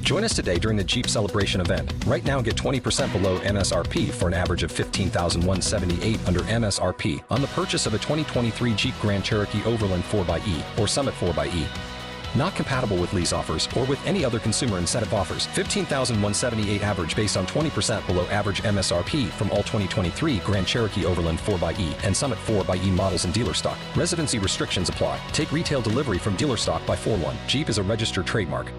Join us today during the Jeep Celebration event. Right now, get 20% below MSRP for an average of $15,178 under MSRP on the purchase of a 2023 Jeep Grand Cherokee Overland 4xE or Summit 4xE. Not compatible with lease offers or with any other consumer incentive offers. $15,178 average based on 20% below average MSRP from all 2023 Grand Cherokee Overland 4xE and Summit 4xE models in dealer stock. Residency restrictions apply. Take retail delivery from dealer stock by 4/1. Jeep is a registered trademark.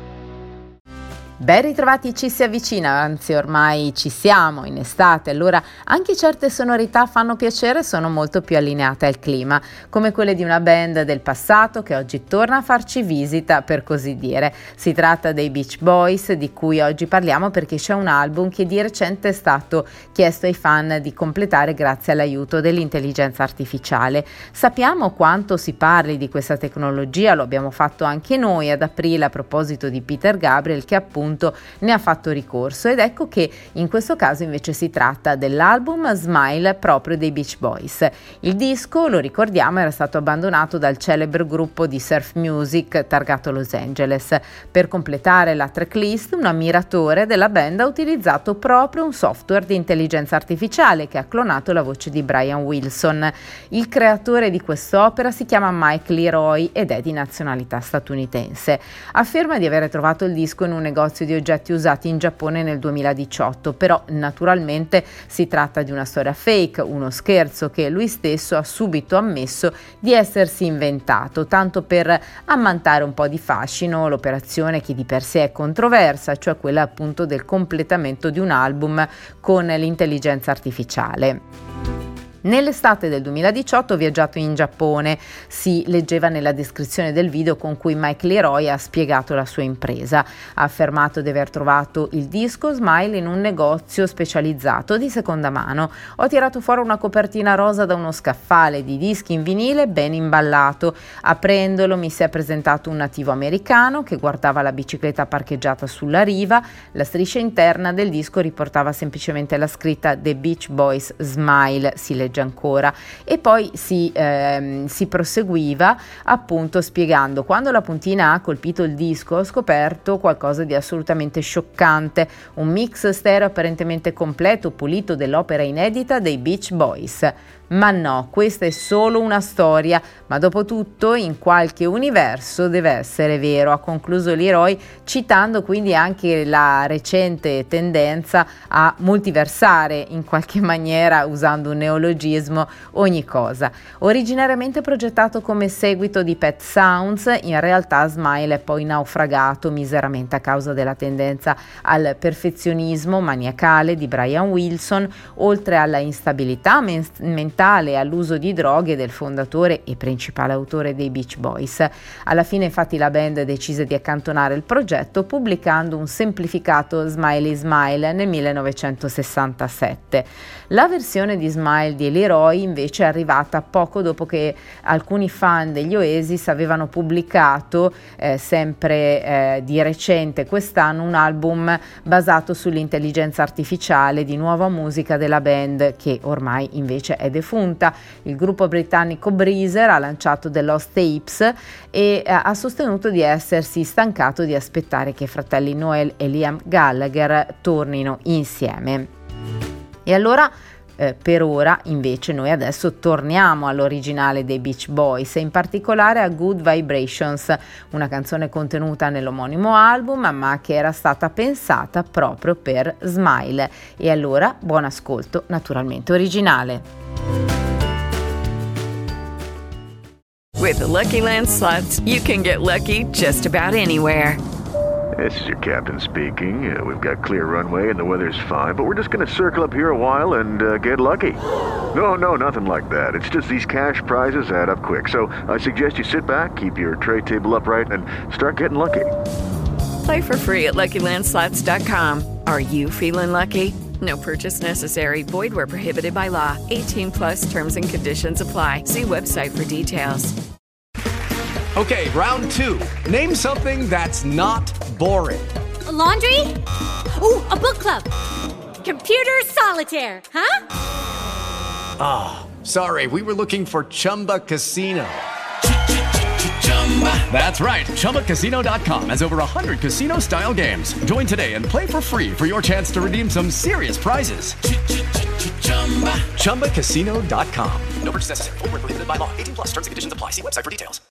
Ben ritrovati, ci si avvicina, anzi ormai ci siamo in estate, allora anche certe sonorità fanno piacere, sono molto più allineate al clima, come quelle di una band del passato che oggi torna a farci visita, per così dire. Si tratta dei Beach Boys, di cui oggi parliamo perché c'è un album che di recente è stato chiesto ai fan di completare grazie all'aiuto dell'intelligenza artificiale. Sappiamo quanto si parli di questa tecnologia, lo abbiamo fatto anche noi ad aprile a proposito di Peter Gabriel, che appunto ne ha fatto ricorso, ed ecco che in questo caso invece si tratta dell'album Smile proprio dei Beach Boys. Il disco, lo ricordiamo, era stato abbandonato dal celebre gruppo di surf music targato Los Angeles. Per completare la tracklist, un ammiratore della band ha utilizzato proprio un software di intelligenza artificiale che ha clonato la voce di Brian Wilson. Il creatore di quest'opera si chiama Mike Leroy ed è di nazionalità statunitense. Afferma di aver trovato il disco in un negozio di oggetti usati in Giappone nel 2018, però naturalmente si tratta di una storia fake, uno scherzo che lui stesso ha subito ammesso di essersi inventato, tanto per ammantare un po' di fascino l'operazione che di per sé è controversa, cioè quella appunto del completamento di un album con l'intelligenza artificiale. Nell'estate del 2018 ho viaggiato in Giappone, si leggeva nella descrizione del video con cui Mike Leroy ha spiegato la sua impresa. Ha affermato di aver trovato il disco Smile in un negozio specializzato di seconda mano. Ho tirato fuori una copertina rosa da uno scaffale di dischi in vinile ben imballato. Aprendolo mi si è presentato un nativo americano che guardava la bicicletta parcheggiata sulla riva. La striscia interna del disco riportava semplicemente la scritta The Beach Boys Smile, si legge ancora, e poi si proseguiva appunto spiegando: quando la puntina ha colpito il disco ho scoperto qualcosa di assolutamente scioccante, un mix stereo apparentemente completo, pulito dell'opera inedita dei Beach Boys. Ma no, questa è solo una storia, ma dopo tutto in qualche universo deve essere vero, ha concluso Leroy, citando quindi anche la recente tendenza a multiversare in qualche maniera, usando un neologismo, ogni cosa. Originariamente progettato come seguito di Pet Sounds, in realtà Smile è poi naufragato miseramente a causa della tendenza al perfezionismo maniacale di Brian Wilson, oltre alla instabilità mentale e all'uso di droghe del fondatore e principale autore dei Beach Boys. Alla fine infatti la band decise di accantonare il progetto pubblicando un semplificato Smiley Smile nel 1967. La versione di Smile di Leroy invece è arrivata poco dopo che alcuni fan degli Oasis avevano pubblicato sempre di recente quest'anno un album basato sull'intelligenza artificiale di nuova musica della band, che ormai invece è defunta. Il gruppo britannico Breezer ha lanciato The Lost Tapes e ha sostenuto di essersi stancato di aspettare che i fratelli Noel e Liam Gallagher tornino insieme. E allora per ora invece noi adesso torniamo all'originale dei Beach Boys e in particolare a Good Vibrations, una canzone contenuta nell'omonimo album ma che era stata pensata proprio per Smile. E allora buon ascolto, naturalmente originale. With the Lucky Land Slots, you can get lucky just about anywhere. This is your captain speaking. We've got clear runway and the weather's fine, but we're just going to circle up here a while and get lucky. No, nothing like that. It's just these cash prizes add up quick. So I suggest you sit back, keep your tray table upright, and start getting lucky. Play for free at LuckyLandSlots.com. Are you feeling lucky? No purchase necessary. Void where prohibited by law. 18 plus terms and conditions apply. See website for details. Okay, round two. Name something that's not boring. A laundry? Ooh, a book club. Computer solitaire, huh? Ah, sorry, we were looking for Chumba Casino. That's right. ChumbaCasino.com has over 100 casino-style games. Join today and play for free for your chance to redeem some serious prizes. ChumbaCasino.com. No purchase necessary. Void where prohibited by law. 18+ terms and conditions apply. See website for details.